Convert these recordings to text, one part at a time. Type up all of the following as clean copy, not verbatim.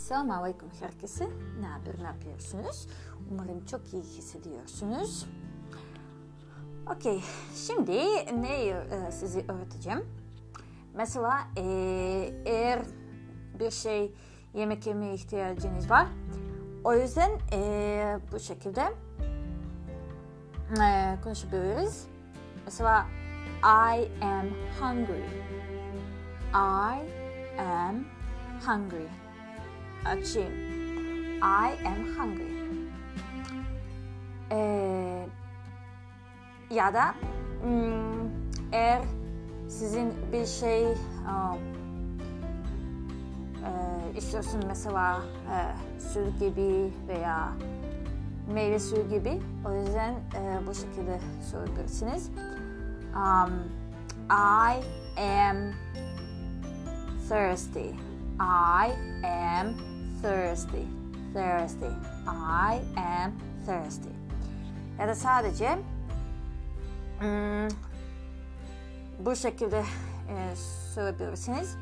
Selamünaleyküm herkese. Ne yapıyorsunuz? Umarım çok iyi hissediyorsunuz. Okey, şimdi neyi size öğreteceğim? Mesela eğer bir şey yemek yemeye ihtiyacınız var. O yüzden bu şekilde konuşabiliriz. Mesela I am hungry. I am hungry. Açayım. I am hungry. Ya da eğer sizin bir şey istiyorsun, mesela süt gibi veya meyve suyu gibi, o yüzden bu şekilde sorabilirsiniz. I am thirsty. I am thirsty. I am thirsty. Ya da sadece bu şekilde sorabilirsiniz.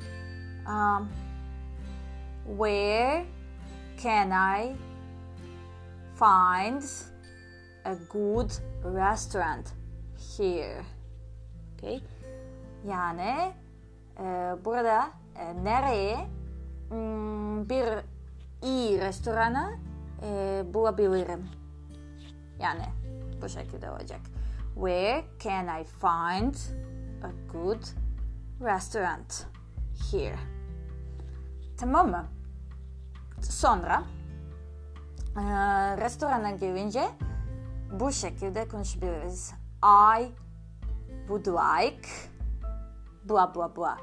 Where can I find a good restaurant here? Okay. Yani burada nereye bir iyi restoranı bulabilirim? Yani bu şekilde olacak. Where can I find a good restaurant here? Tamam mı? Sonra restorana gelince bu şekilde konuşabiliriz. I would like blah blah blah.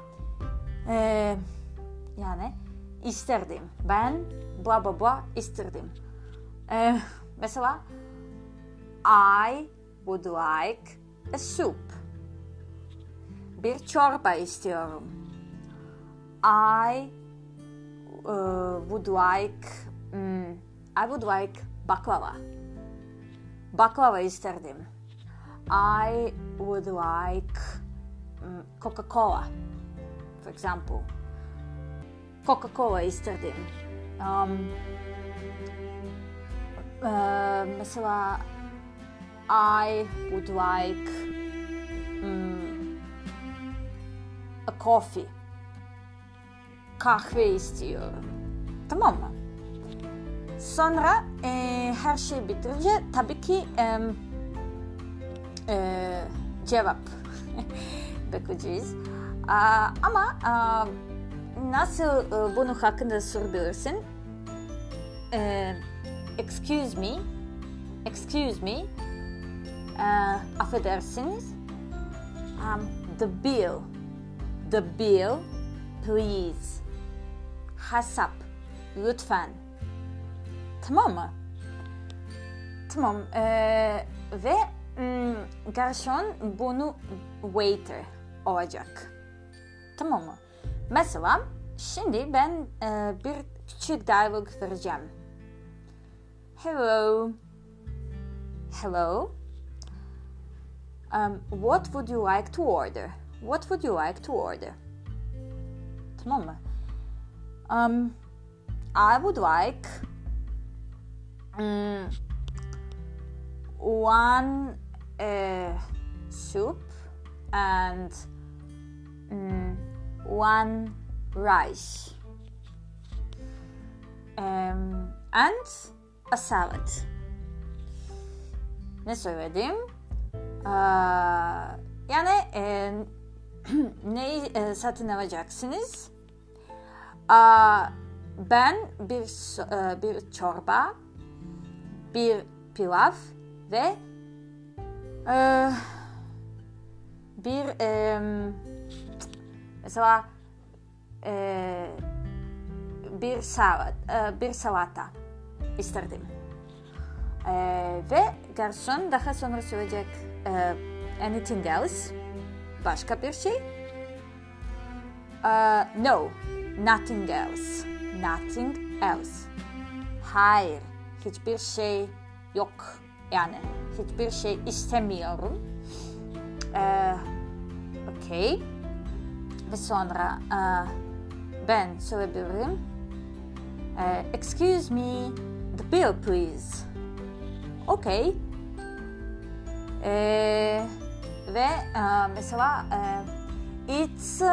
Yani isterdim. Ben blah blah blah isterdim. Mesela I would like a soup. Bir çorba istiyorum. I would like baklava. Baklava isterdim. I would like Coca-Cola, for example. Coca-Cola isterdim. Mesela I would like a coffee. Kahve istiyorum. Tamam mı? Sonra her şey bitirince tabii ki cevap bekleyeceğiz. Ama nasıl bunun hakkında sorabilirsin? Excuse me. Affedersiniz. The bill, please. Hesap, lütfen. Tamam mı? Tamam. Ve garson bunu waiter olacak. Tamam mı? Mesela şimdi ben bir küçük diyalog vereceğim. Hello. What would you like to order? Tamam mı? I would like one soup and one rice and a salad. Ne söyledim? Yani neyi satın alacaksınız? Ben bir çorba, bir pilav ve bir mesela bir salata isterdim. Ve garson daha sonra söyleyecek anything else? Başka bir şey? No, nothing else. Hayır, hiçbir şey yok. Yani hiçbir şey istemiyorum. Okay. Ve sonra ben söyleyebilirim. Excuse me, the bill please. Okay. Ve mesela it's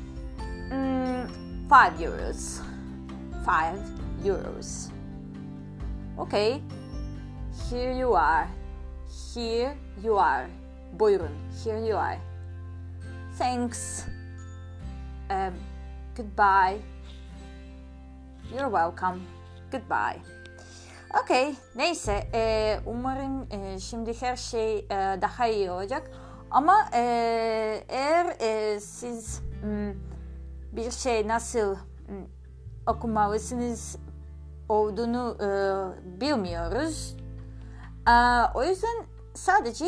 5 euros. 5 euros. Okay. Here you are. Here you are. Buyurun. Here you are. Thanks. Goodbye. You're welcome. Goodbye. Okay. Neyse. Umarım şimdi her şey daha iyi olacak. Ama eğer siz bir şey nasıl okumalısınız olduğunu bilmiyoruz. O yüzden sadece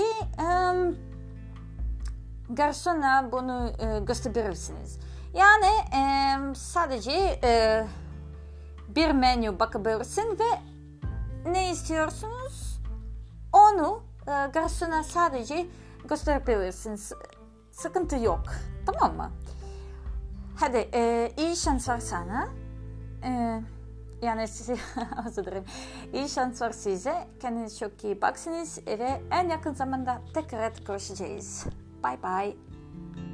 garsona bunu gösterirsiniz. Yani sadece bir menü bakabilirsin ve ne istiyorsunuz onu garsona sadece gösterebilirsiniz. Sıkıntı yok. Tamam mı? Hadi iyi şanslar sana. Yani size özür dilerim. İyi şanslar size. Kendinize çok iyi bakınız ve en yakın zamanda tekrar görüşeceğiz. Bye bye.